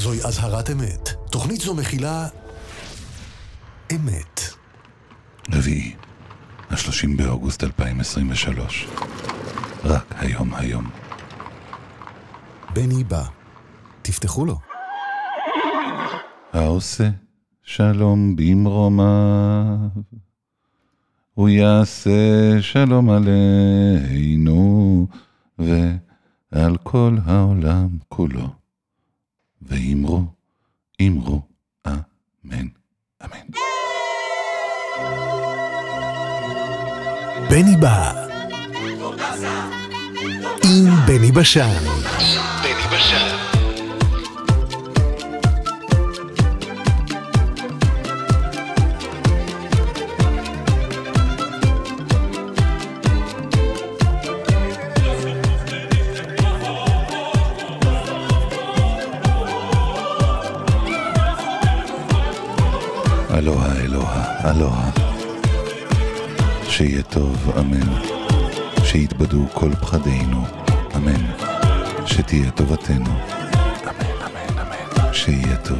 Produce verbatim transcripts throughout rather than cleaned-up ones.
זוהי אזהרת אמת. תוכנית זו מכילה אמת. רביעי, השלושים באוגוסט אלפיים עשרים ושלוש. רק היום היום. בני בא. תפתחו לו. העושה שלום במרומיו, הוא יעשה שלום עלינו ועל כל העולם כולו. ואמרו, אמרו, אמן, אמן. בני בא. עם בני בשן. עם בני בשן. אלוהה, אלוהה, אלוהה. שיהיה טוב, אמן. שיתבדו כל פחדינו, אמן. שתהיה טובתנו, אמן, אמן, אמן. שיהיה טוב,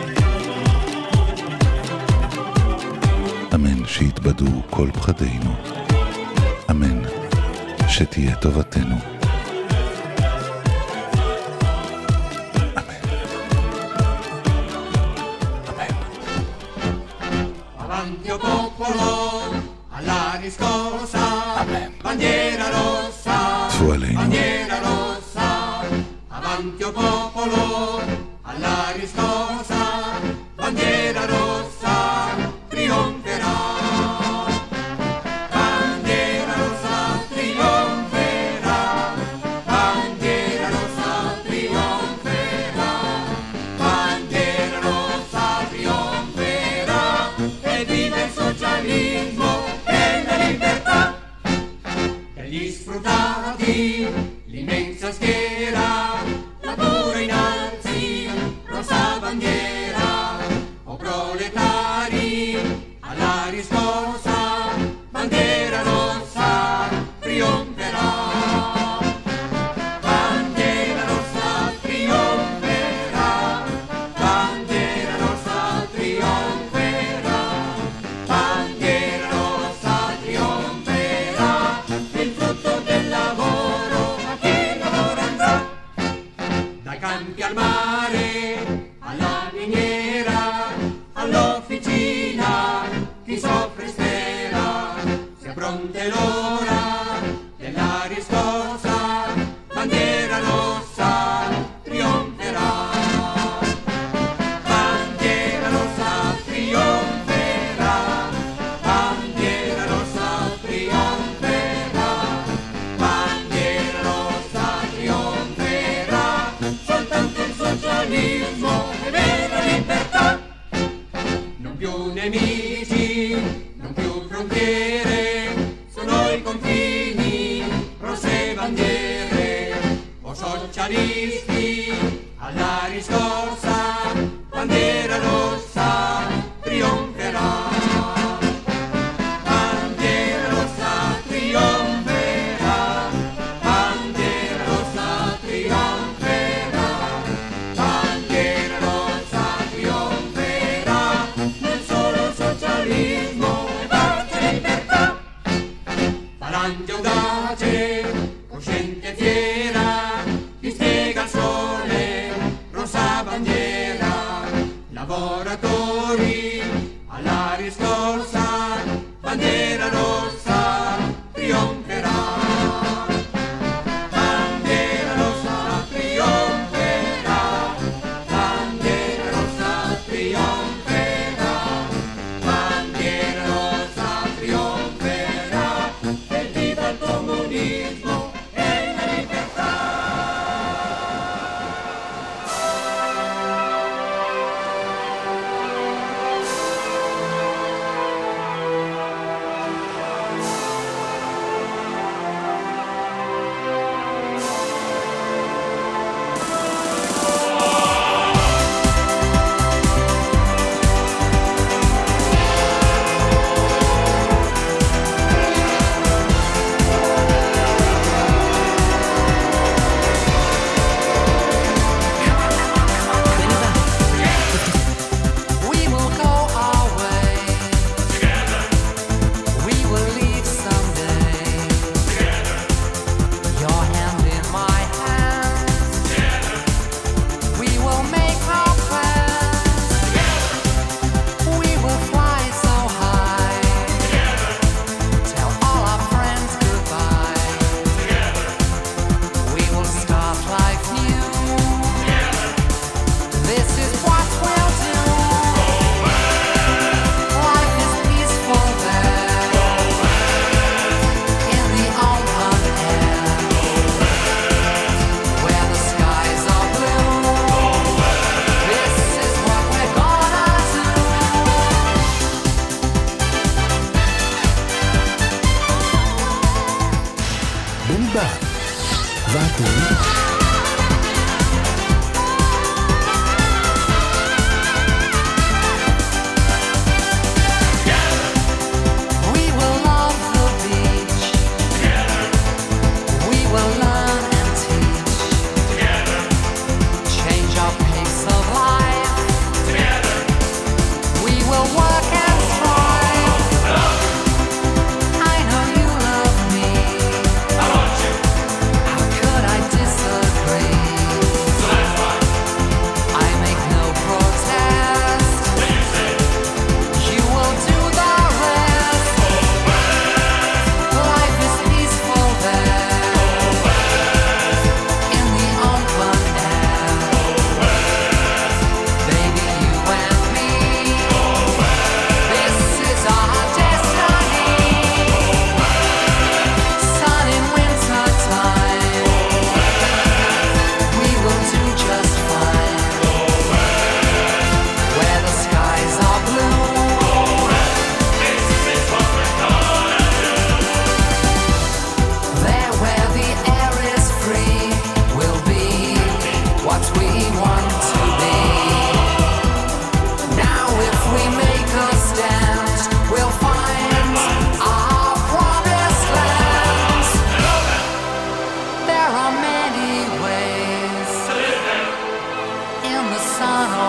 אמן. שיתבדו כל פחדינו, אמן. שתהיה טובתנו, bandiera rossa, bandiera rossa, avanti o popolo, alla riscossa, bandiera rossa, trionferà. Bandiera rossa, trionferà, bandiera rossa, trionferà, bandiera rossa, trionferà, e vive il socialismo e la libertà. Gli sfruttati, l'immensa schiera, la pura innanzi, rossa bandiera, o proletari, alla riscossa, bandiera rossa, trionferà. Bandiera rossa, trionferà, bandiera rossa, trionferà, bandiera rossa, trionferà. Il frutto del lavoro a chi lavora andrà, dai campi al mare, alla miniera, all'officina, chi soffre spera, sia pronta l'ora della riscossa, bandiera rossa, trionferà. Bandiera rossa, trionferà, bandiera rossa, trionferà, bandiera rossa, trionferà, soltanto il socialismo e vera libertà. Non più nemici, non più frontiere, sono i confini, rosse bandiere, o socialisti, alla riscossa, bandiera rossa, trionferà. Bandiera rossa, trionferà, bandiera rossa, trionferà, bandiera rossa, trionferà, nel solo socialismo e pace e libertà. Falange audace, cosciente e fiera, chi spiega il sole, rossa bandiera.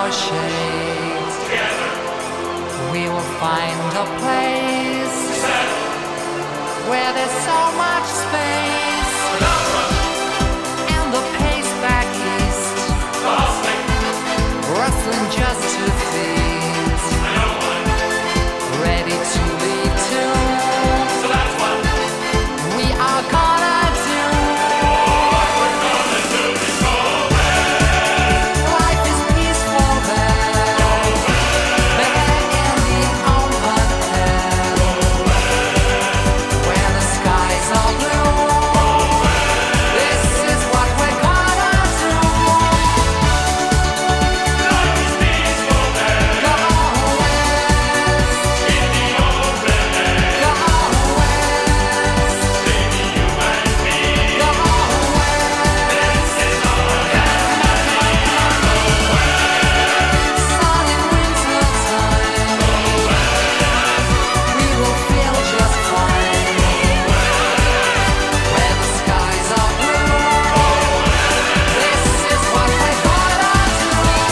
our shades. Together we will find a place where there's so much space. And the pace back east, rustling just to thieves, ready to leave too. So that's what we are gonna do. What we're gonna do is go west. Life is peaceful there. Go west. There in the open air. Go west. Where the skies are blue. Go west. This is what we're gonna do. Life is peaceful there. Go west. In the open air. Go west. Baby, you and me. Go west. This is our destiny. Go west. Sun in winter time. Go west. We will feel just fine. Go west. Where the skies are blue. Go west. This is what we're gonna do.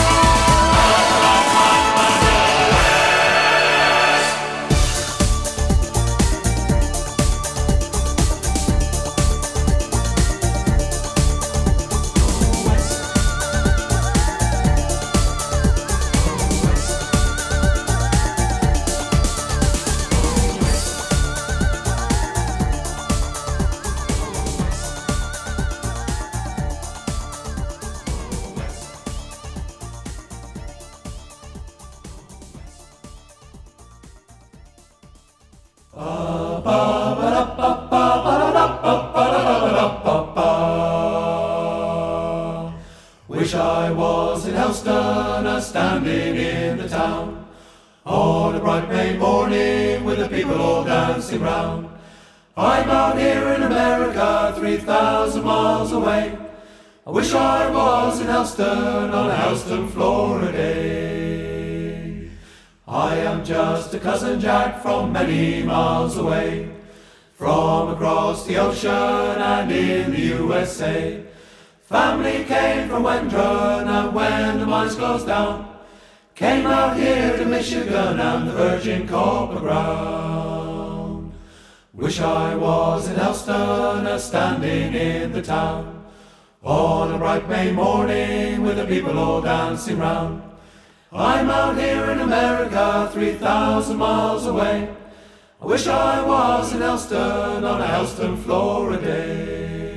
Wish I was in Helston, a standing in the town, on a bright May morning with the people all dancing round. I'm out here in America, three thousand miles away. I wish I was in Helston, on a Helston Florida day. I am just a cousin Jack from many miles away, from across the ocean and in the U S A. Family came from Wendron, and when the mines closed down, came out here to Michigan and the virgin copper ground. Wish I was in Helston, a standing in the town, on a bright May morning with the people all dancing round. I'm out here in America, three thousand miles away. I wish I was in Helston, on a Helston Florida day.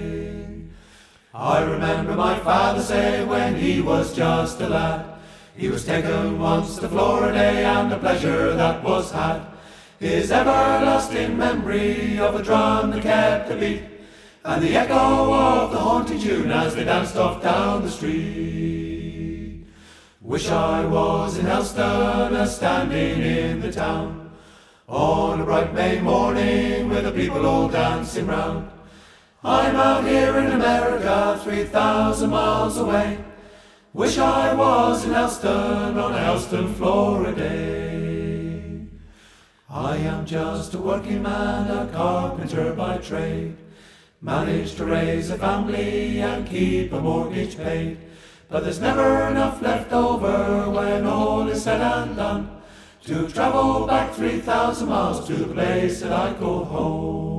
I remember my father say when he was just a lad, he was taken once to Florida and the pleasure that was had. His everlasting memory of a drum that kept the beat, and the echo of the haunting tune as they danced off down the street. Wish I was in Helston, a standing in the town, on a bright May morning with the people all dancing round. I'm out here in America, three thousand miles away. Wish I was in Helston, on a Helston Florida day. I am just a working man, a carpenter by trade, managed to raise a family and keep a mortgage paid. But there's never enough left over when all is said and done to travel back three thousand miles to the place that I call home.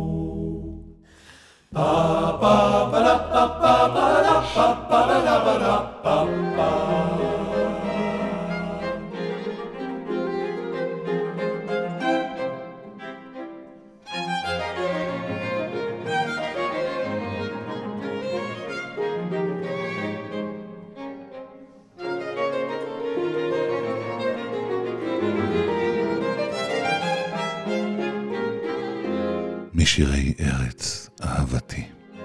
Ba ba ba da ba ba ba da ba ba da da ba da ba ba. משירי ארץ אהבתי.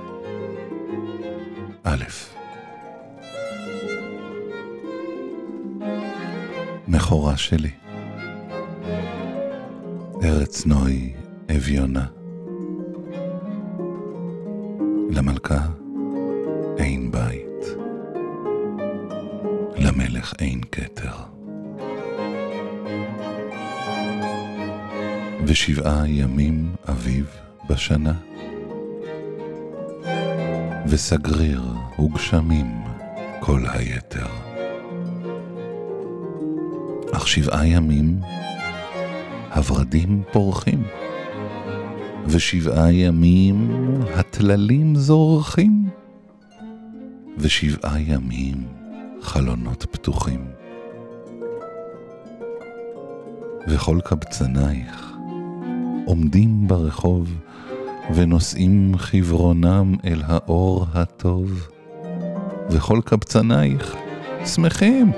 א', מחורה שלי, ארץ נוי אביונה, למלכה אין בית, למלך אין כתר. ושבעה ימים אביב בשנה, וסגריר וגשמים כל היתר. אך שבעה ימים הורדים פורחים, ושבעה ימים הטללים זורחים, ושבעה ימים חלונות פתוחים. וכל קבצנייך עומדים ברחוב, ונושאים חברונם אל האור הטוב, וכל קבצנייך שמחים.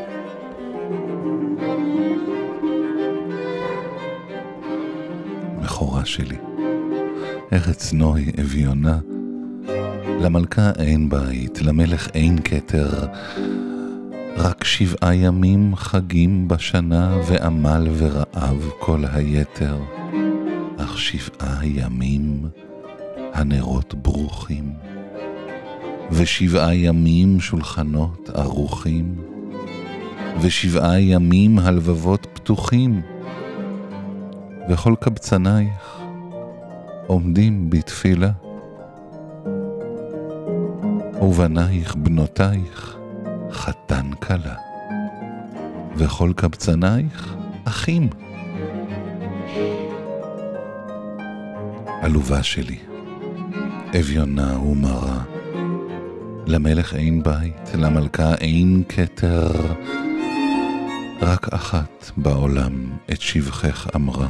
מחורה שלי, ארץ נוי אביונה, למלכה אין בית, למלך אין כתר, רק שבעה ימים חגים בשנה, ועמל ורעב כל היתר. אך שבעה ימים הנרות ברוכים, ושבעה ימים שולחנות ערוכים, ושבעה ימים הלבבות פתוחים, וכל קבצנייך עומדים בתפילה, ובנייך בנותייך חתן קלה, וכל קבצנייך אחים. עלובה שלי, אביונה ומרה, למלך אין בית, למלכה אין כתר, רק אחת בעולם את שבחך אמרה,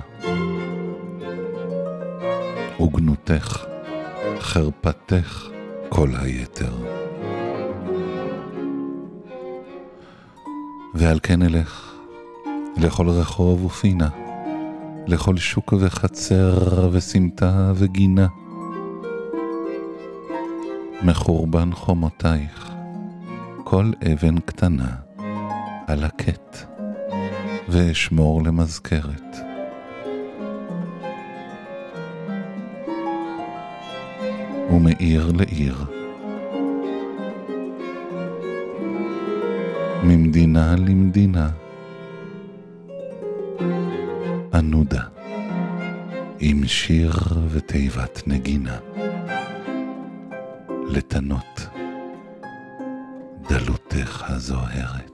וגנותך, חרפתך כל היתר. ועל כן אלך לכל רחוב ופינה, לכל שוק וחצר וסמטה וגינה, מחורבן חומותייך כל אבן קטנה על הקט, ואשמור למזכרת. ומעיר לעיר, ממדינה למדינה, ענודה עם שיר ותיבת נגינה, לתנות דלותך הזוהרת.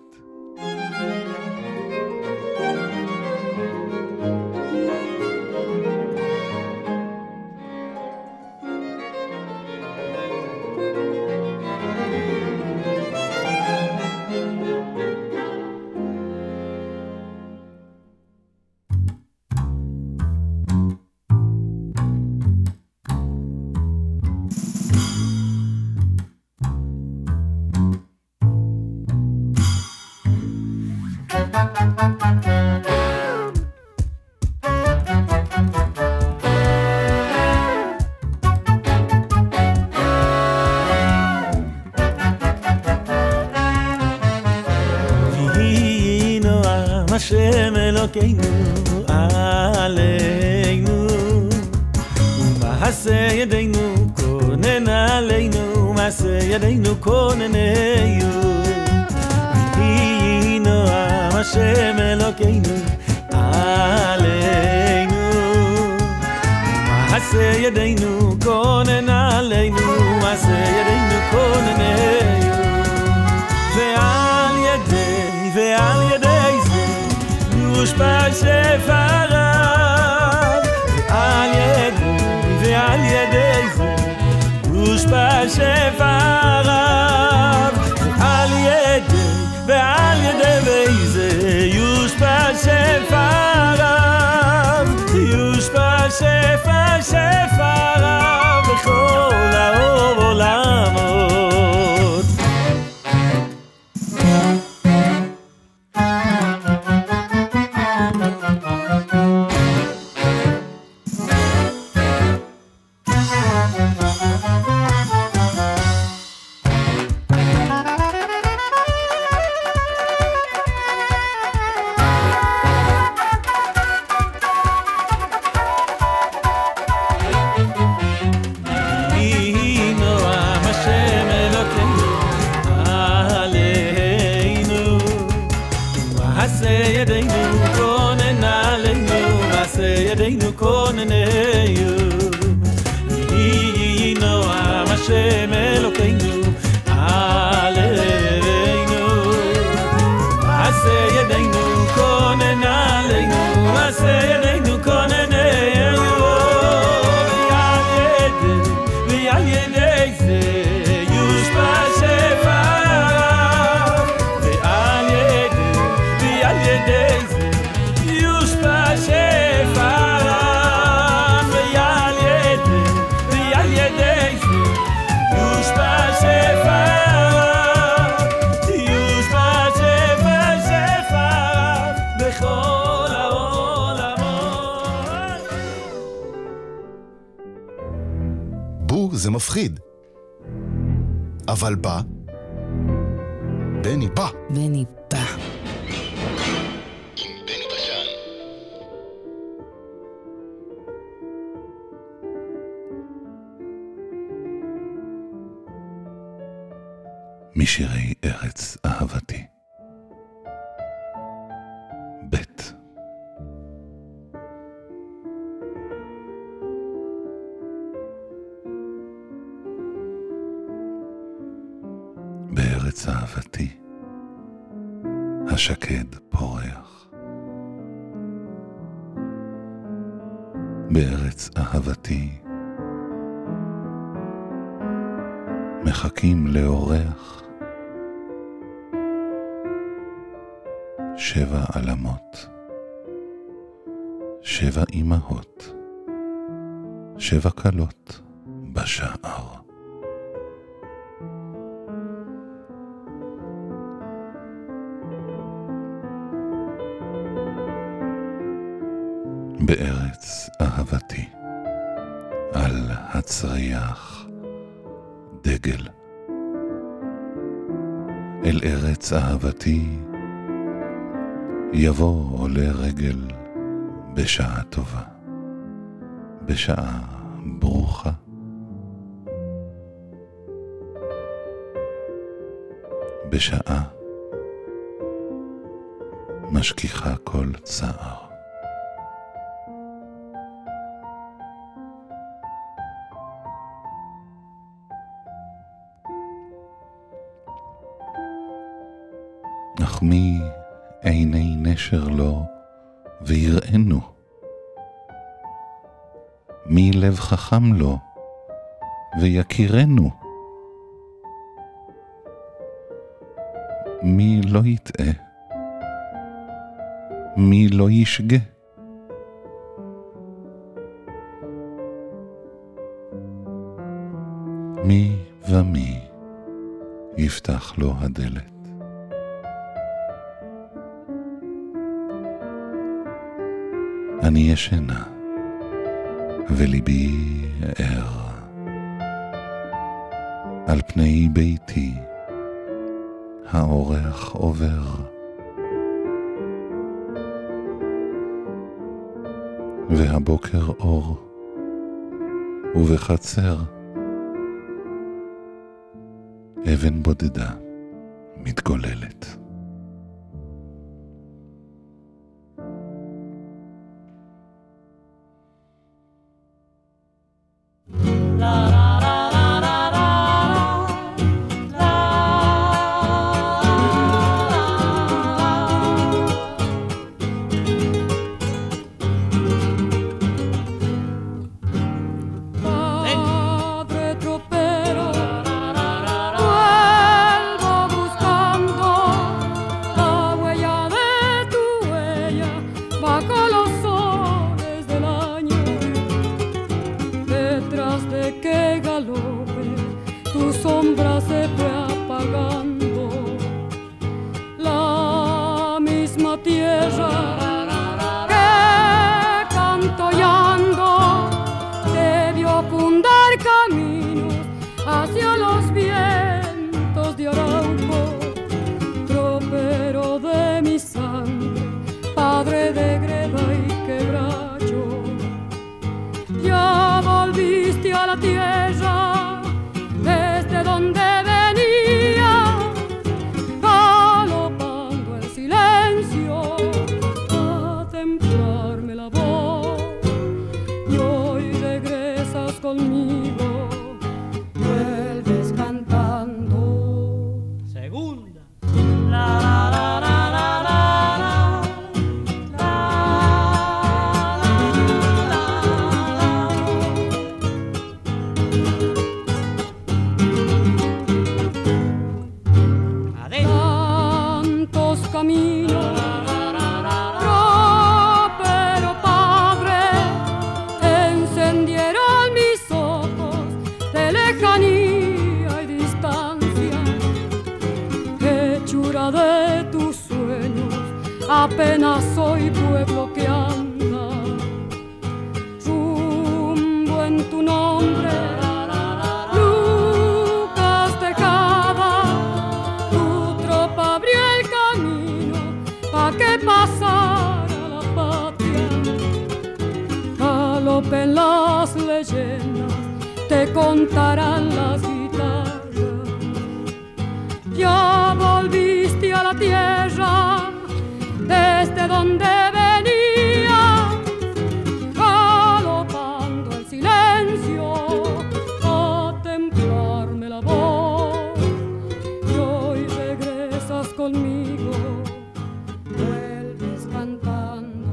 השם אלוקינו עלינו, ומעשה ידינו כונן עלינו, מעשה ידינו כוננהו. ויהי נועם השם אלוקינו עלינו, ומעשה ידינו כונן עלינו, מעשה ידינו כוננהו. ועל ידי ועל ידי זה יושפע שפריו, ועל ידי ועל ידי זה יושפע שפריו, ועל ידי ועל ידי זה יושפע שפריו, יושפע שפע שפריו בכל העולמות. ידינו כוננהו. יהי נועם השם אלוקינו עלינו, מעשה ידינו כוננהו. זה מפחיד. אבל בא, בני בא. בני בא. משירי ארץ אהבתי. בית. בארץ אהבתי השקד פורח. בארץ אהבתי מחכים לאורח שבע עלמות, שבע אמהות, שבע כלות בשער. בארץ אהבתי על הצריח דגל. אל ארץ אהבתי יבוא עולה רגל בשעה טובה, בשעה ברוכה. בשעה משכיחה כל צער. אך מי עיני נשר לו ויראינו? מי לב חכם לו ויכירנו? מי לא יטעה? מי לא ישגה? מי ומי יפתח לו הדלת? אני ישנה וליבי ער על פני ביתי האורח עובר. והבוקר אור ובחצר אבן בודדה מתגוללת. Apenas soy pueblo que anda rumbo en tu nombre, contarán las guitarras. Ya volviste a la tierra desde donde venías, galopando el silencio a templarme la voz. Y hoy regresas conmigo, vuelves cantando.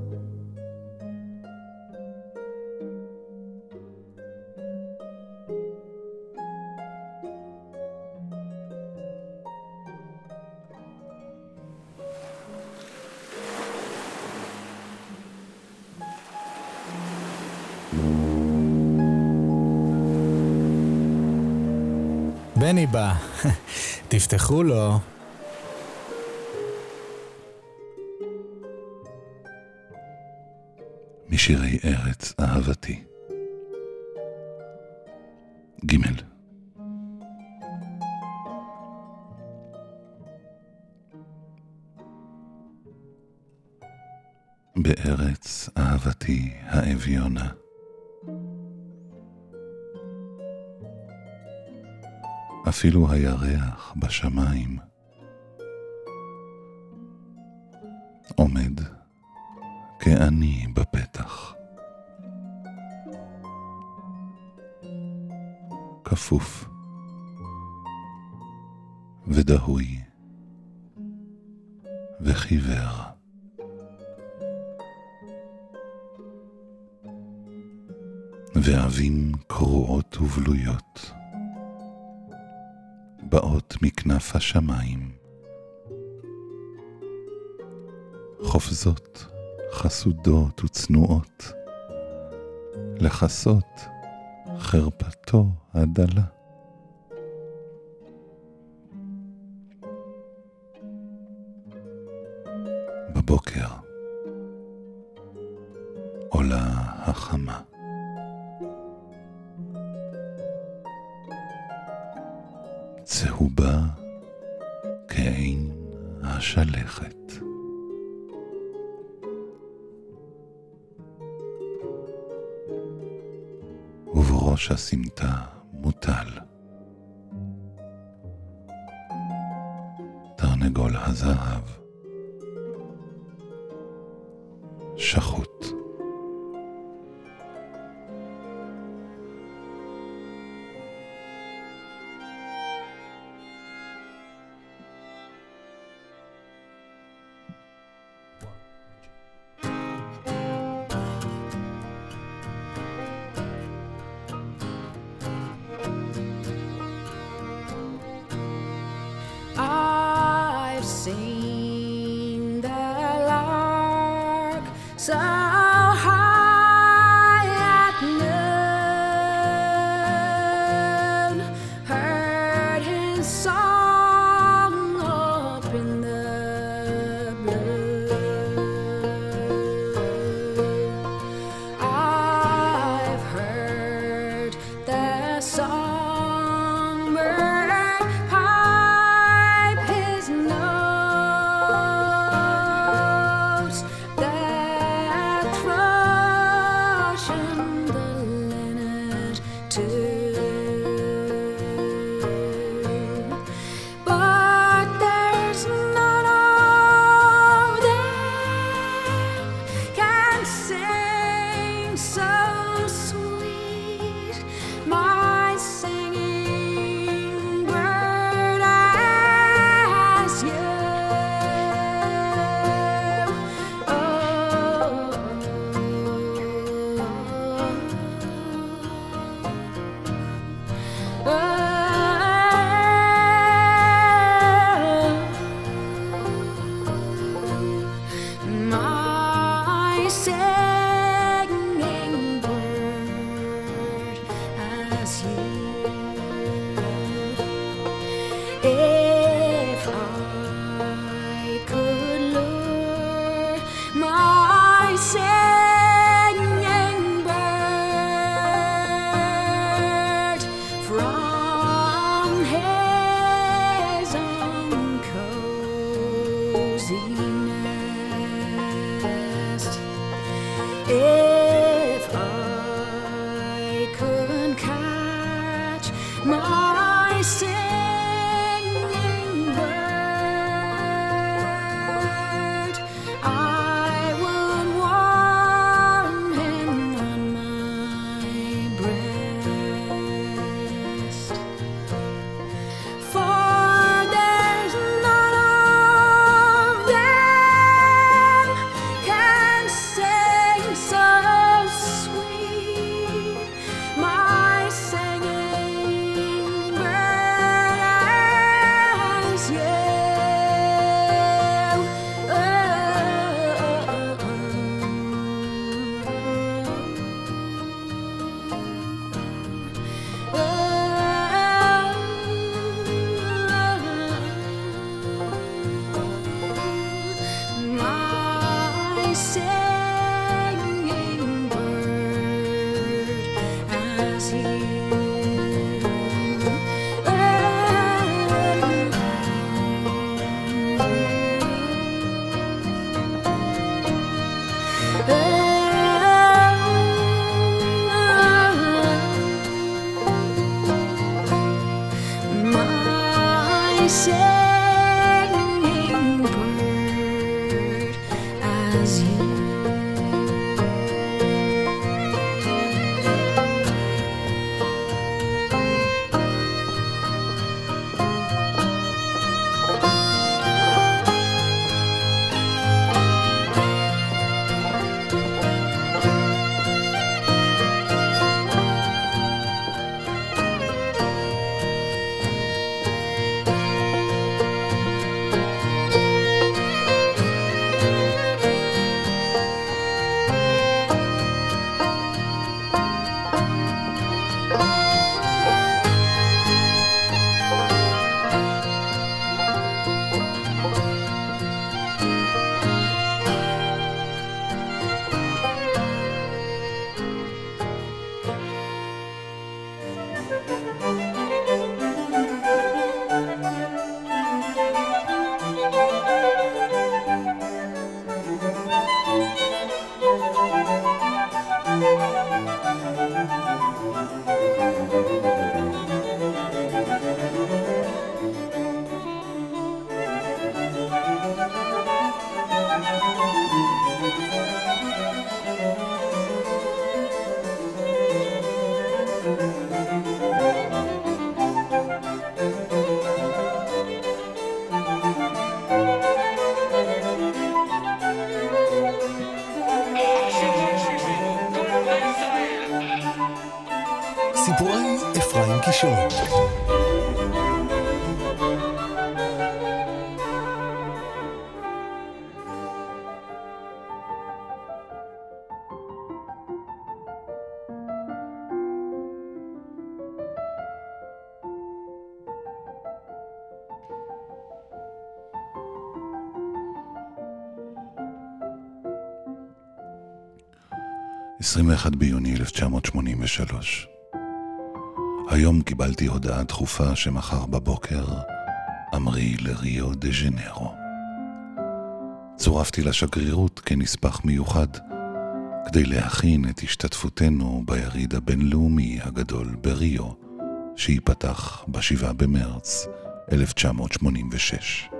בני בא, תפתחו לו. משירי ארץ אהבתי. גימל. בארץ אהבתי האביונה, אפילו הירח בשמיים עומד כעני בפתח, כפוף ודהוי וחיוור. ועבים קרועות ובלויות באות מכנף השמיים, חופזות חסודות וצנועות לחסות חרפתו הדלה. בבוקר עולה החמה, צהובה כעין השלכת. ובראש הסמטה מוטל תרנגול הזהב שחוט. I've seen the lark so high at noon, heard his song up in the blue. I've heard the songbird pipe his notes, that thrush and the linnet too. But there's none of them can sing so sweet, my singing bird, as you. My singing bird, as you. If I could lure my singing bird from his own cozy nest, if I could catch as you. סיפורי אפרים קישון. עשרים ואחד ביוני אלף תשע מאות שמונים ושלוש. היום קיבלתי הודעה דחופה שמחר בבוקר אמרי לריו דה ז'נרו. צורפתי לשגרירות כנספח מיוחד כדי להכין את השתתפותנו ביריד הבינלאומי הגדול בריו שיפתח בשבעה במרץ אלף תשע מאות שמונים ושש.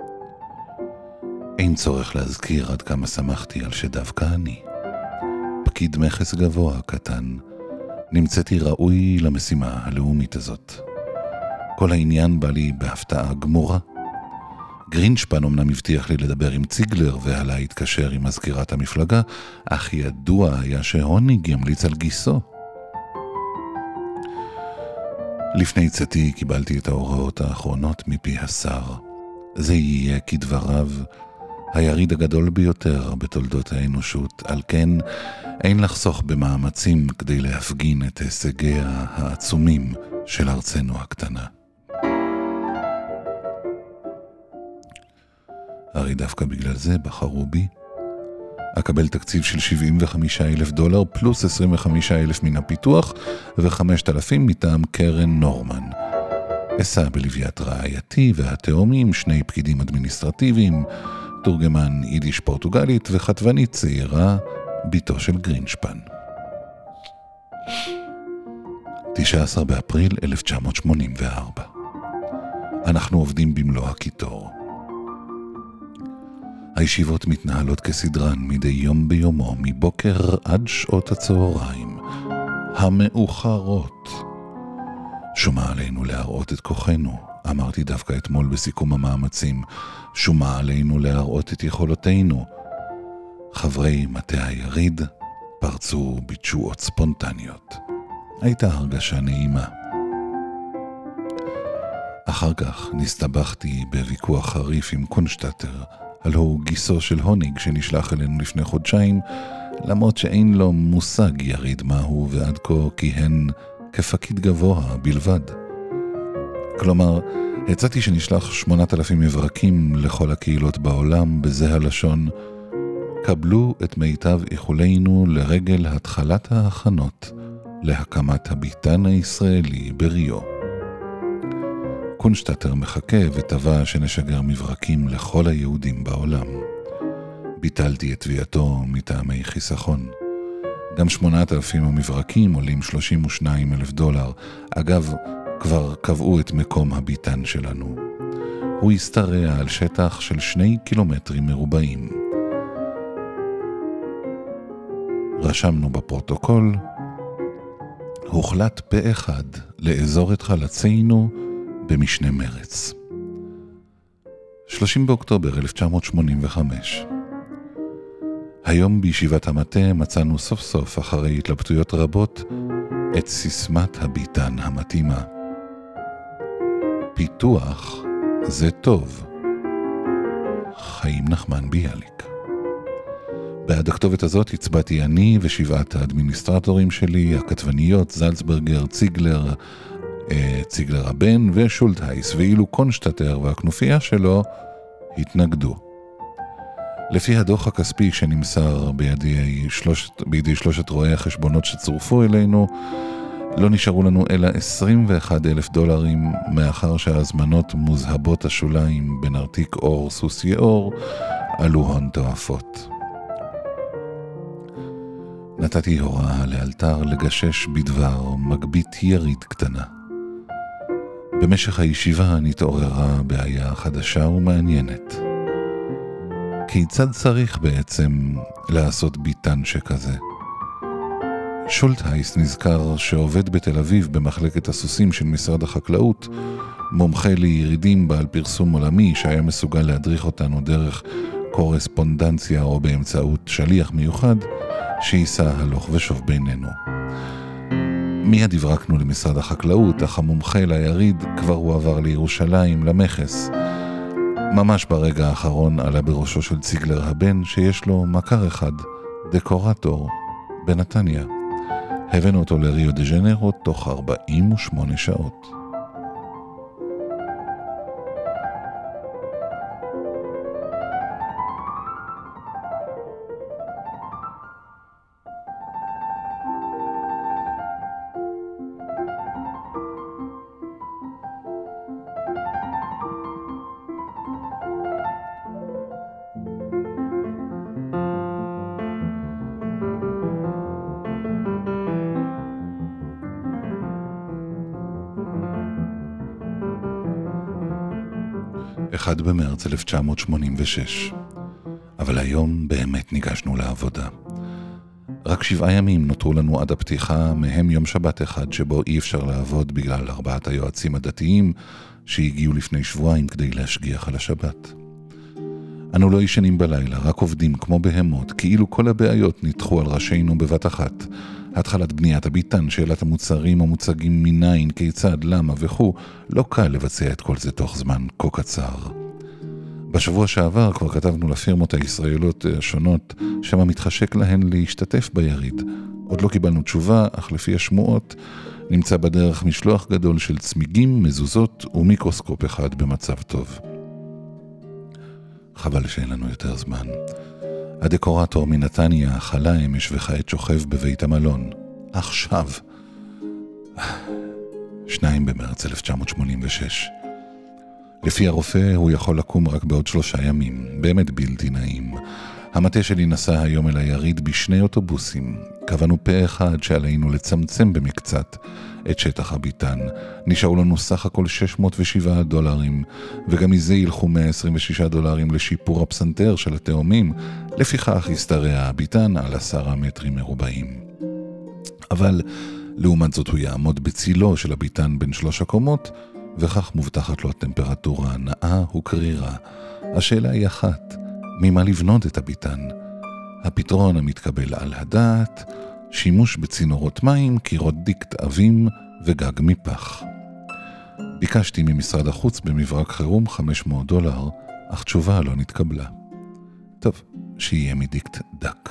אין צורך להזכיר עד כמה שמחתי על שדווקא אני, פקיד מכס גבוה קטן, נמצאתי ראוי למשימה הלאומית הזאת. כל העניין בא לי בהפתעה גמורה. גרינשפן אמנם הבטיח לי לדבר עם ציגלר ועלה התקשר עם מזכירת המפלגה, אך ידוע היה שהוניג ימליץ על גיסו. לפני צאתי קיבלתי את ההוראות האחרונות מפי השר. זה יהיה כדבריו היריד הגדול ביותר בתולדות האנושות, על כן אין לחסוך במאמצים כדי להפגין את הישגיה העצומים של ארצנו הקטנה. הרי דווקא בגלל זה בחרו בי. אקבל תקציב של שבעים וחמישה אלף דולר פלוס עשרים וחמישה אלף מן הפיתוח ו-חמשת אלפים מטעם קרן נורמן. אסע בלוויית רעייתי והתאומים, שני פקידים אדמיניסטרטיביים, תורגמן יידיש פורטוגלית וכתבנית צעירה, ביתו של גרינשפן. תשעה עשר באפריל אלף תשע מאות שמונים וארבע. אנחנו עובדים במלוא הקיטור. הישיבות מתנהלות כסדרן מדי יום ביומו, מבוקר עד שעות הצהריים המאוחרות. שומה עלינו להראות את כוחנו, אמרתי דווקא אתמול בסיכום המאמצים. שומה עלינו להראות את יכולותינו. חברי מטה היריד פרצו בתשואות ספונטניות. הייתה הרגשה נעימה. אחר כך נסתבכתי בוויכוח חריף עם קונשטטר, הלא הוא גיסו של הוניג שנשלח אלינו לפני חודשיים, למרות שאין לו מושג יריד מהו ועד כה כיהן כפקיד גבוה בלבד. כלומר, הצעתי שנשלח שמונת אלפים מברקים לכל הקהילות בעולם בזה הלשון: קבלו את מיטב איחולינו לרגל התחלת ההכנות להקמת הביתן הישראלי בריו. קונשטטר מחכה וטבע שנשגר מברקים לכל היהודים בעולם. ביטלתי את תביעתו מטעמי חיסכון. גם שמונת אלפים המברקים עולים שלושים ושניים אלף דולר. אגב, כבר קבעו את מקום הביתן שלנו. הוא יסתרע על שטח של שני קילומטרים מרובעים. רשמנו בפרוטוקול, הוחלט פה אחד לאזור את חלצינו במשנה מרץ. שלושים באוקטובר אלף תשע מאות שמונים וחמש. היום בישיבת המטה מצאנו סוף סוף אחרי התלבטויות רבות את סיסמת הביטן המתאימה. פיתוח זה טוב. חיים נחמן ביאליק. בעד הכתובת הזאת הצבעתי אני ושבעת האדמיניסטרטורים שלי, הכתבניות, זלצברגר, ציגלר, ציגלר הבן ושולטהייס, ואילו קונשטטר והכנופיה שלו התנגדו. לפי הדוח הכספי שנמסר בידי שלושת, בידי שלושת רואי החשבונות שצורפו אלינו, לא נשארו לנו אלא עשרים ואחד אלף דולרים, מאחר שההזמנות מוזהבות השוליים בנרתיק אור סוסי אור עלו הון תועפות. נתתי הוראה לאלתר לגשש בדבר מגבית ירית קטנה. במשך הישיבה נתעוררה בעיה חדשה ומעניינת. כיצד צריך בעצם לעשות ביטן שכזה? שולטהייס נזכר שעובד בתל אביב במחלקת הסוסים של משרד החקלאות, מומחה לירידים בעל פרסום עולמי שהיה מסוגל להדריך אותנו דרך קורספונדנציה או באמצעות שליח מיוחד שייסע הלוך ושוב בינינו. מיד הברקנו למשרד החקלאות, אך המומחה ליריד כבר הועבר לירושלים למחס. ממש ברגע האחרון עלה בראשו של ציגלר הבן שיש לו מכר אחד, דקורטור, בנתניה. הבאנו אותו לריו דה ז'נרו תוך ארבעים ושמונה שעות. אחד במרץ אלף תשע מאות שמונים ושש. אבל היום באמת ניגשנו לעבודה. רק שבעה ימים נותרו לנו עד הפתיחה, מהם יום שבת אחד שבו אי אפשר לעבוד בגלל ארבעת היועצים הדתיים שהגיעו לפני שבועיים כדי להשגיח על השבת. אנו לא ישנים בלילה, רק עובדים כמו בהמות, כאילו כל הבעיות נדחו על ראשינו בבת אחת. התחלת בניית הביטן, שאלת המוצרים המוצגים מניין, כיצד, למה וכו', לא קל לבצע את כל זה תוך זמן כה קצר. בשבוע שעבר כבר כתבנו לפירמות הישראליות השונות שמה מתחשק להן להשתתף ביריד. עוד לא קיבלנו תשובה, אך לפי השמועות נמצא בדרך משלוח גדול של צמיגים, מזוזות ומיקרוסקופ אחד במצב טוב. חבל שאין לנו יותר זמן. הדקורטור מנתניה חלה אמש וכעת שוכב בבית המלון. עכשיו. שניים במרץ אלף תשע מאות שמונים ושש. לפי הרופא הוא יכול לקום רק בעוד שלושה ימים. באמת בלתי נעים. המטה שלי נסע היום אל היריד בשני אוטובוסים. קבענו פה אחד שעלינו לצמצם במקצת את שטח הביטן. נשארו לנו סך הכל שש מאות ושבעה דולרים, וגם מזה ילכו מאה עשרים ושישה דולרים לשיפור הפסנתר של התאומים. לפיכך יסתרע הביטן על עשרה מטרים מרובעים. אבל לעומת זאת הוא יעמוד בצילו של הביטן בין שלוש הקומות, וכך מובטחת לו הטמפרטורה הנאה וקרירה. השאלה היא אחת, ממה לבנות את הביטן? הפתרון המתקבל על הדעת, שימוש בצינורות מים, קירות דיקט עבים וגג מפח. ביקשתי ממשרד החוץ במברק חירום חמש מאות דולר, אך תשובה לא נתקבלה. טוב, שיהיה מדיקט דק.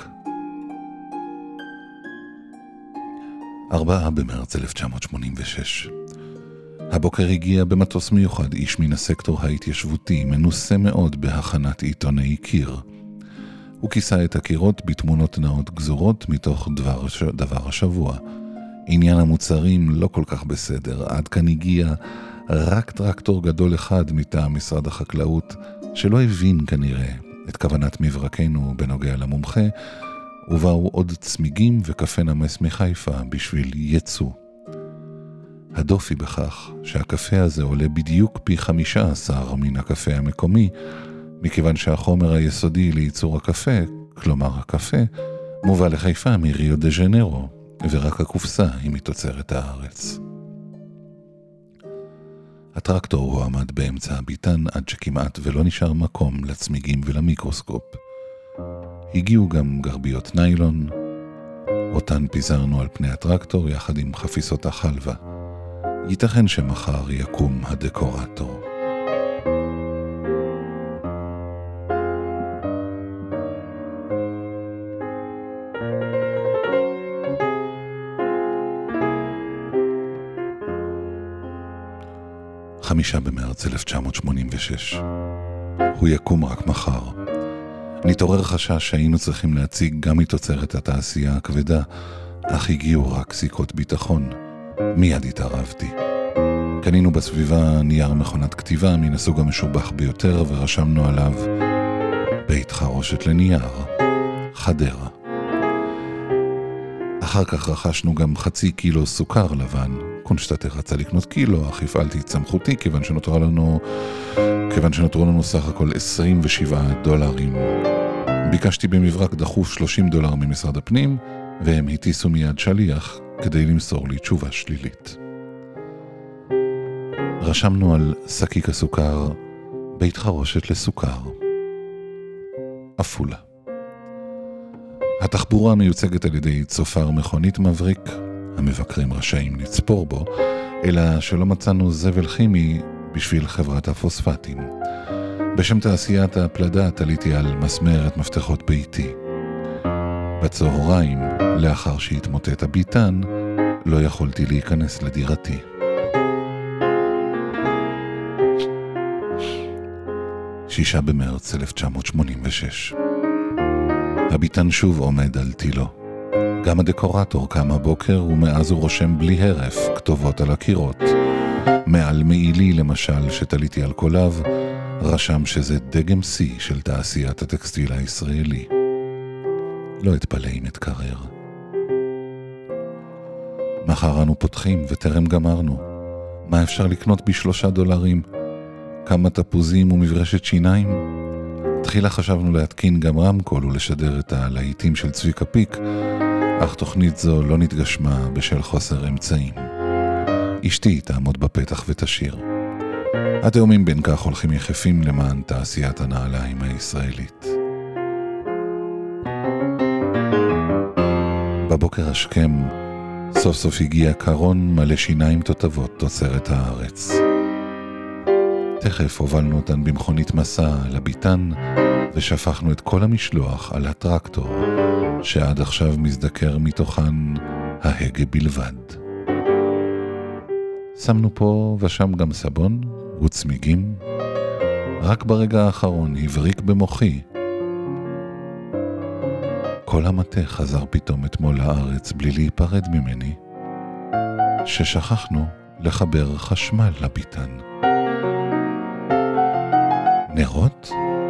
ארבעה במרץ אלף תשע מאות שמונים ושש. הבוקר הגיע במטוס מיוחד איש מן הסקטור ההתיישבותי, מנוסה מאוד בהכנת עיתוני קיר. הוא כיסה את הקירות בתמונות נאות גזורות מתוך דבר, דבר השבוע. עניין המוצרים לא כל כך בסדר, עד כאן הגיע רק טרקטור גדול אחד מטעם משרד החקלאות, שלא הבין כנראה את כוונת מברקנו בנוגע למומחה, ובאו עוד צמיגים וקפה נמס מחיפה בשביל יצוא. הדופי בכך שהקפה הזה עולה בדיוק פי חמישה עשר מן הקפה המקומי, מכיוון שהחומר היסודי לייצור הקפה, כלומר הקפה, מובא לחיפה מריו דה ז'נרו, ורק הקופסה היא מתוצרת הארץ. הטרקטור הועמד באמצע הביטן עד שכמעט ולא נשאר מקום לצמיגים ולמיקרוסקופ. הגיעו גם גרביות ניילון, אותן פיזרנו על פני הטרקטור יחד עם חפיסות החלבה. ייתכן שמחר יקום הדקורטור. חמישה במרץ אלף תשע מאות שמונים ושש. הוא יקום רק מחר. נתעורר חשש שהיינו צריכים להציג גם מתוצרת התעשייה הכבדה, אך הגיעו רק סיכות ביטחון. מיד התערבתי. קנינו בסביבה נייר מכונת כתיבה מן הסוג המשובח ביותר ורשמנו עליו בית חרושת לנייר, חדרה. אחר כך רכשנו גם חצי קילו סוכר לבן. קונשטאטר רצה לקנות קילו, אך הפעלתי את סמכותי כיוון שנותרו לנו, כיוון שנותרו לנו סך הכל עשרים ושבעה דולרים. ביקשתי במברק דחוף שלושים דולר ממשרד הפנים, והם הטיסו מיד שליח כדי למסור לי תשובה שלילית. רשמנו על שקיק הסוכר בית חרושת לסוכר, אפולה. התחבורה מיוצגת על ידי צופר מכונית מבריק, המבקרים רשאים לצפור בו, אלא שלא מצאנו זבל כימי בשביל חברת הפוספטים. בשם תעשיית הפלדה תליתי על מסמרת מפתחות ביתי. בצהריים, לאחר שהתמוטט הביטן, לא יכולתי להיכנס לדירתי. שישה במרץ אלף תשע מאות שמונים ושש. הביטן שוב עומד על תילו. גם הדקורטור קם הבוקר ומאז הוא רושם בלי הרף כתובות על הקירות. מעל מעילי למשל שתליתי על קוליו, רשם שזה דגם C של תעשיית הטקסטיל הישראלי. לא אתפלא אם אתקרר. מחר אנו פותחים וטרם גמרנו. מה אפשר לקנות בשלושה דולרים? כמה תפוזים ומברשת שיניים? תחילה חשבנו להתקין גם רמקול ולשדר את הלהיטים של צביקה פיק, אך תוכנית זו לא נתגשמה בשל חוסר אמצעים. אשתי תעמוד בפתח ותשיר. התאומים בין כך הולכים יחפים למען תעשיית הנעליים הישראלית. בבוקר השכם סוף סוף הגיע קרון מלא שיניים תותבות תוצרת הארץ. תכף הובלנו אותן במכונית מסע לביטן ושפכנו את כל המשלוח על הטרקטור שעד עכשיו מזדקר מתוכן ההגה בלבד. שמנו פה ושם גם סבון וצמיגים. רק ברגע האחרון הבריק במוחי. כל המטה חזר פתאום אתמול לארץ בלי להיפרד ממני, ששכחנו לחבר חשמל לביטן. נרות?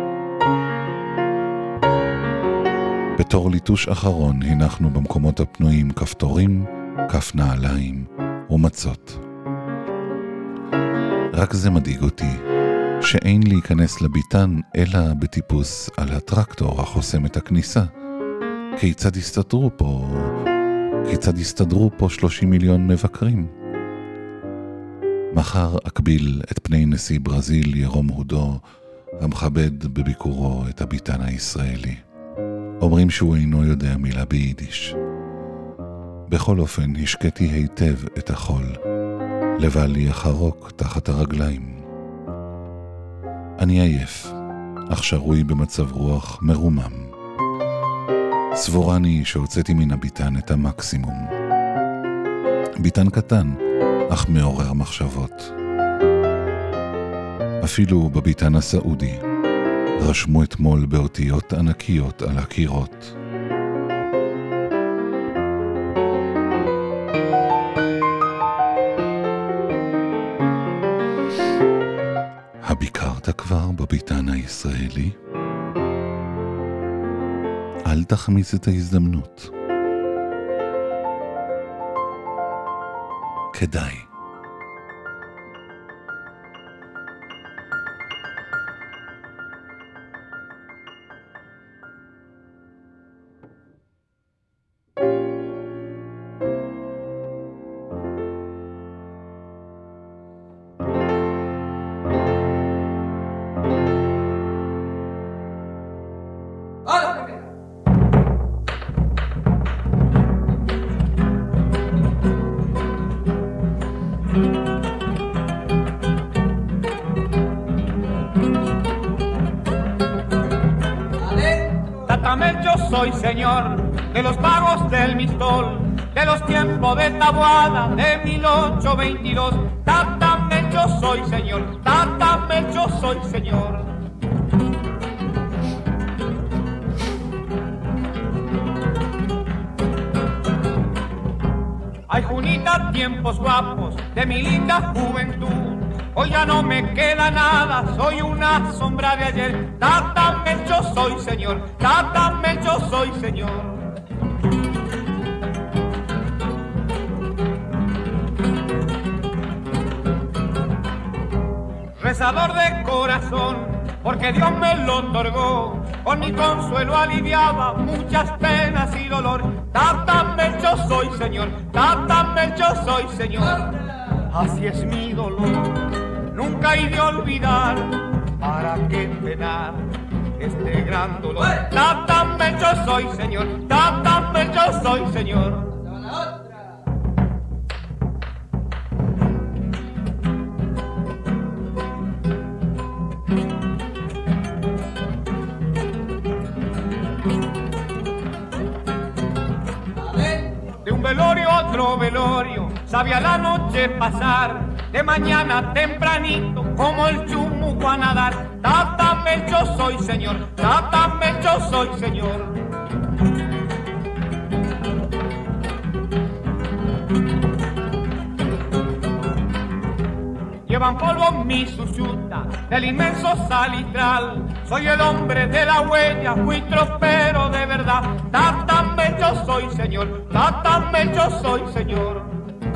בתור ליטוש אחרון הנחנו במקומות הפנויים כפתורים, כף נעליים ומצות. רק זה מדאיג אותי, שאין להיכנס לביטן אלא בטיפוס על הטרקטור החוסם את הכניסה. כיצד יסתדרו פה, כיצד יסתדרו פה שלושים מיליון מבקרים? מחר אקביל את פני נשיא ברזיל ירום הודו, המכבד בביקורו את הביטן הישראלי. אומרים שהוא אינו יודע מילה ביידיש. בכל אופן השקתי היטב את החול. לבל לי החרוק תחת הרגליים. אני עייף, אך שרוי במצב רוח מרומם. סבורני שהוצאתי מן הביטן את המקסימום. ביטן קטן, אך מעורר מחשבות. אפילו בביטן הסעודי רשמו אתמול באותיות ענקיות על הקירות. הביקרת כבר בביטן הישראלי? אל תחמיץ את ההזדמנות. כדאי. Tatamel yo soy señor de los pagos del Mistol, de los tiempos de Taboada de mil ochocientos veintidós. Tatamel yo soy señor, Tatamel yo soy señor. Ay, Junita, tiempos guapos de mi linda juventud. Hoy ya no me queda nada, soy una sombra de ayer. Tatamel yo soy señor, Tatamel yo soy señor. Rezador de corazón, porque Dios me lo otorgó. Con mi consuelo aliviaba muchas penas y dolor. Tatamel yo soy señor, Tatamel yo soy señor. Así es mi dolor, nunca he de olvidar. ¿Para qué penar este gran dolor? Tatamel yo soy señor, Tatamel yo soy señor. Velorio, otro velorio, sabía la noche pasar, de mañana tempranito, como el chumuco a nadar. Tatamel yo soy señor, Tatamel yo soy señor. Llevan polvo mi suchuta del inmenso salitral. Soy el hombre de la huella, fui tropero de verdad. Tatamel yo soy señor, Tatamel yo soy señor.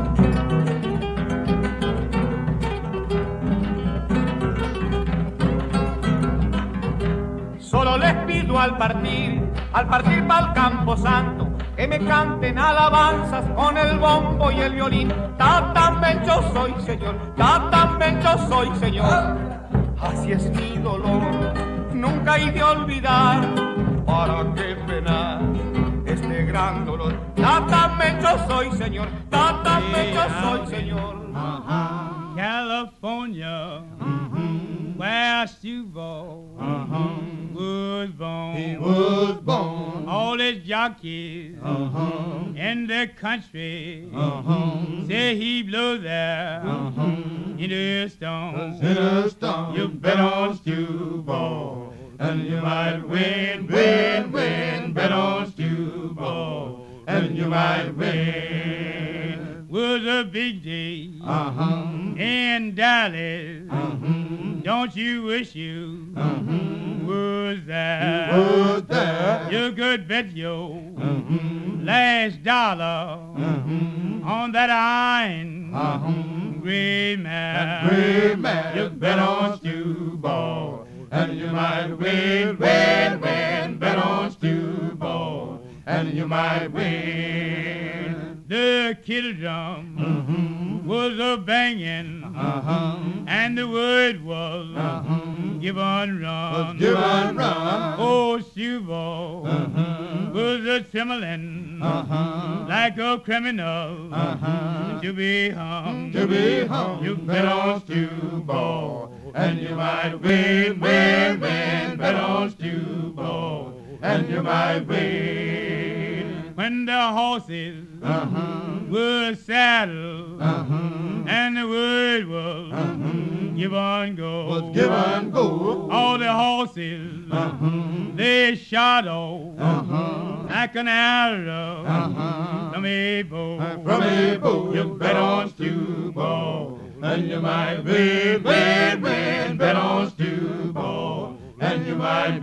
Solo les pido al partir, al partir pa'l Campo Santo, que me canten alabanzas con el bombo y el violín. Tatamel yo soy señor, Tatamel yo soy señor. Así es mi dolor, nunca he de olvidar. ¿Para qué penar este gran dolor? Tatamel yo soy señor, Tatamel yo soy señor. Uh-huh. California, uh-huh. where Steve-O uh-huh. was born. He was born. All his jockeys uh-huh. in the country uh-huh. say he blew there uh-huh. in a stone. In a stone. You bet on Steve-O, and you might win, win, win. Bet on Steve-O, and you might win. Was a big day uh-huh. in Dallas. Uh-huh. Don't you wish you uh-huh. was there? You was there. You could bet your uh-huh. last dollar uh-huh. on that iron uh-huh. gray mare. Gray mare. You bet on Steve-O, and you might win, win, win. Bet on Steve-O, and you might win. The kettle drum uh-huh. was a banging, uh-huh. and the word was uh-huh. give on run. Give on run. Oh, Steve-O uh-huh. was a trembling uh-huh. like a criminal uh-huh. to be hung. To be hung. You bet on Steve-O, and you might win, win, win. Bet on Steve-O, and you might win. When the horses uh-huh. were saddled uh-huh. and the word was uh-huh. give on go. Was give on go. All the horses uh-huh. they shot off uh-huh. like an arrow uh-huh. from a bow. Uh, from a bow. You bet on Steve-O, and you might win, win, win. Bet on Steve-O, and you might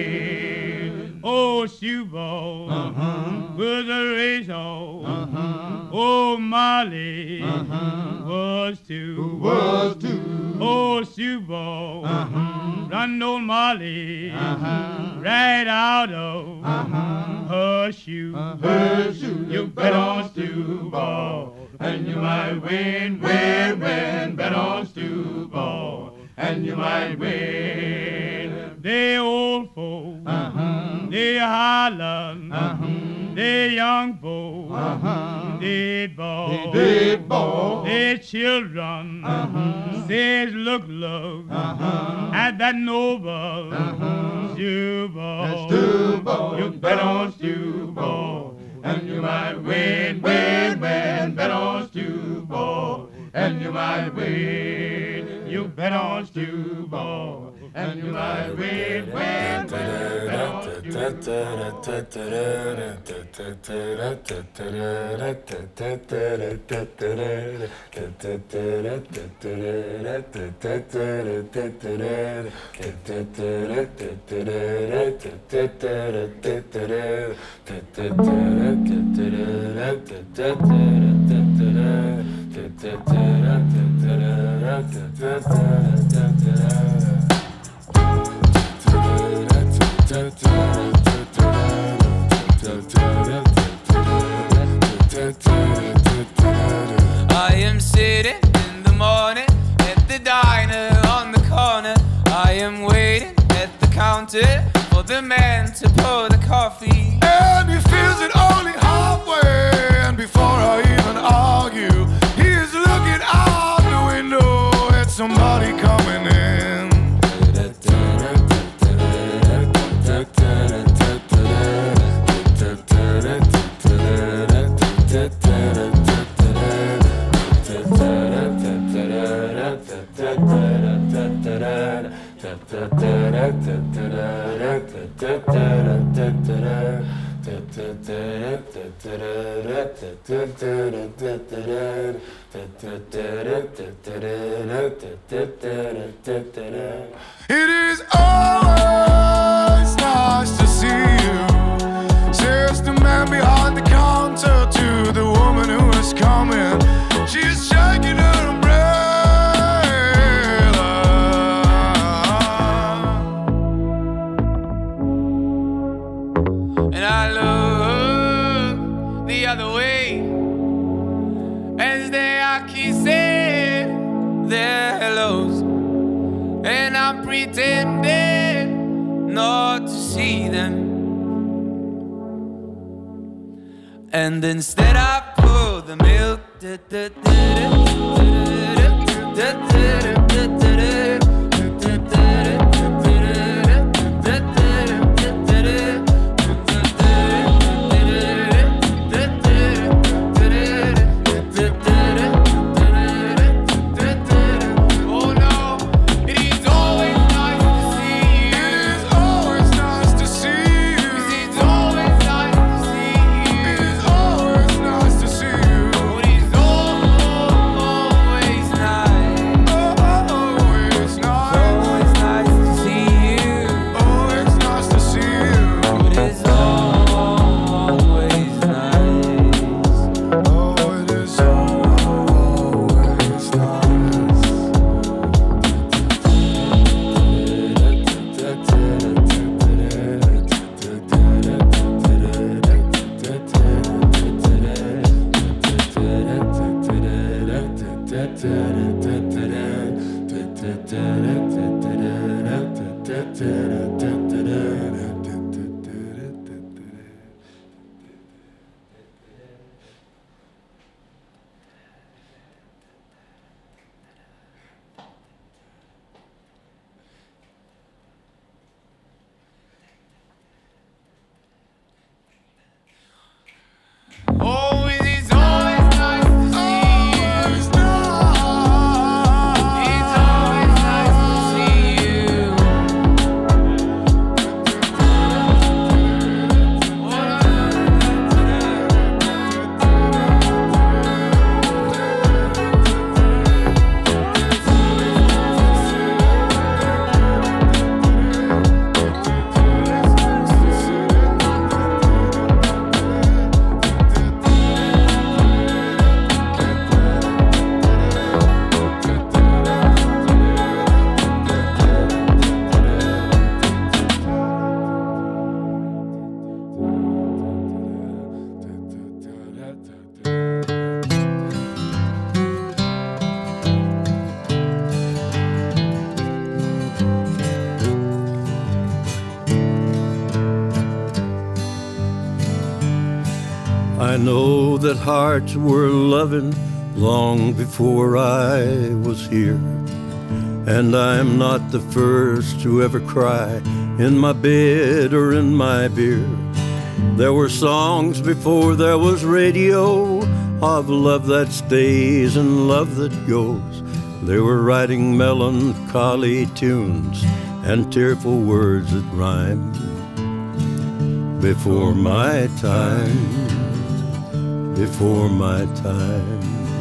win. Oh, Steve-O uh-huh. was a racehorse. Uh-huh. Oh, Molly uh-huh. was too. Was too. Oh, Steve-O uh-huh. run old Molly uh-huh. right out of uh-huh. her shoe. Uh, her shoe. You bet on Steve-O, and you might win, win, win. Bet on Steve-O, and you might win. The old folks, uh-huh. they holler uh-huh. They young boys, uh-huh. Dead boys, dead boys, they children, uh-huh. Says look, look, uh-huh. At that noble, uh-huh. Stew ball, that stew ball, you bet on stew ball, and you might win, win, win, bet on stew ball, and you might win, you bet on stew ball. And you might win, win, win, bet on I am sitting in the morning at the diner on the corner. I am waiting at the counter for the man to pour the coffee. And he feels it only halfway, and before I even argue, he is looking out the window at somebody coming in. It is always nice to see you, says the man behind the counter to the woman who is coming. She's shaking her umbrella. And I look the other way as they are kissing their hellos, and I'm pretending not to see them. And instead I pour the milk. Always I know that hearts were loving long before I was here. And I'm not the first to ever cry in my bed or in my beer. There were songs before there was radio of love that stays and love that goes. They were writing melancholy tunes and tearful words that rhyme before my time, before my time.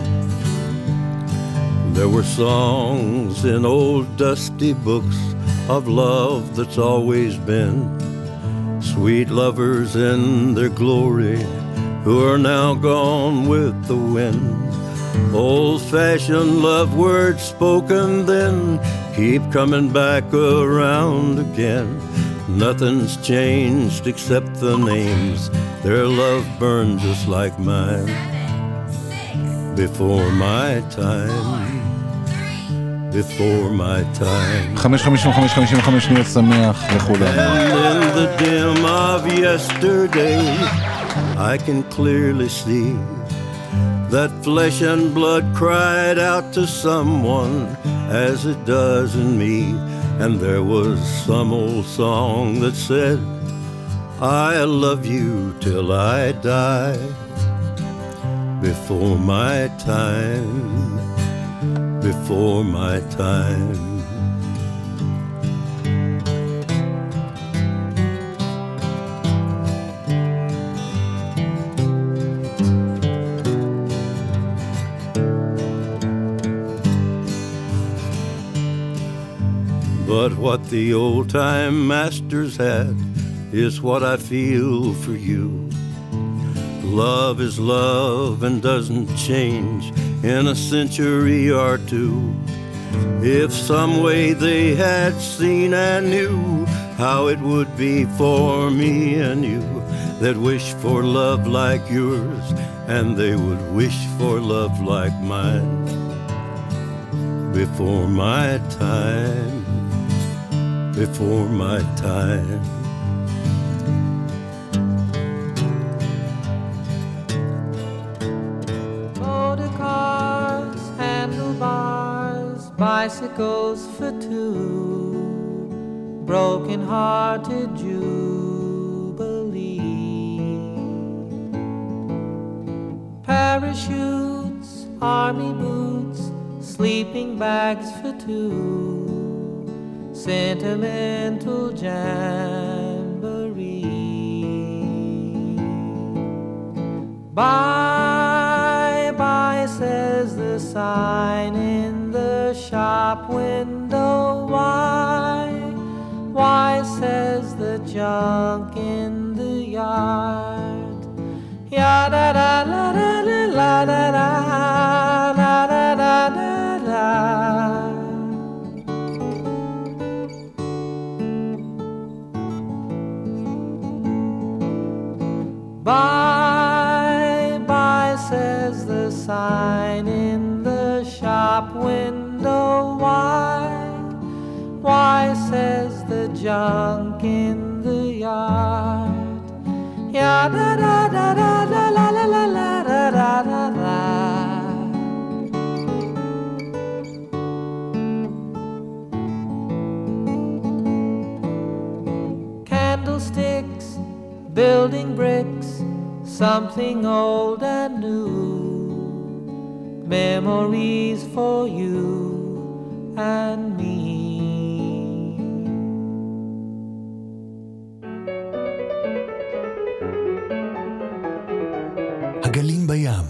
There were songs in old dusty books of love that's always been. Sweet lovers in their glory who are now gone with the wind. Old-fashioned love words spoken then keep coming back around again. Nothing's changed except the names. Their love burned just like mine before my time, before my time. חמש חמישים וחמש חמישים וחמש שניות שמח לכולם. And in the dim of yesterday I can clearly see that flesh and blood cried out to someone as it does in me. And there was some old song that said, I love you till I die before my time, before my time. But what the old-time masters had is what I feel for you. Love is love and doesn't change in a century or two. If some way they had seen and knew how it would be for me and you, they'd wish for love like yours, and they would wish for love like mine before my time, before my time. Motor cars, handlebars, bicycles for two, broken-hearted jubilee. Parachutes, army boots, sleeping bags for two, sentimental jamboree. Bye, bye, says the sign in the shop window. Why, why, says the junk in the yard. Ya da da la da la la da da la da da da da. Bye, bye, says the sign in the shop window. Why, why, says the junk in the yard. Ya da da da da da la la la la da da da da. Candlesticks, building bricks, something old and new, memories for you and me. הגלים בים,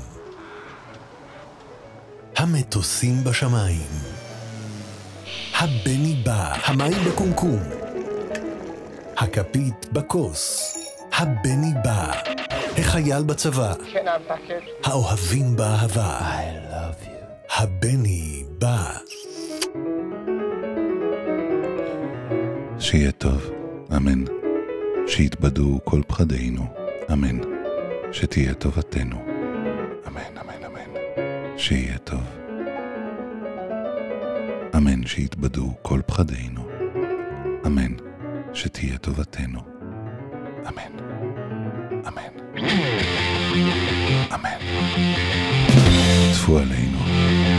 המטוסים בשמיים, הבני בא, המים בקומקום, הכפית בכוס, הבני בא, החייל בצבא, האוהבים באהבה, I love you. הבני בא. שיהיה טוב, אמן. שיתבדו כל פחדינו, אמן. שתהיה טובתנו, אמן, אמן, אמן. שיהיה טוב, אמן. שיתבדו כל פחדינו, אמן. שתהיה טובתנו, אמן, אמן. אמן. טפו עלינו.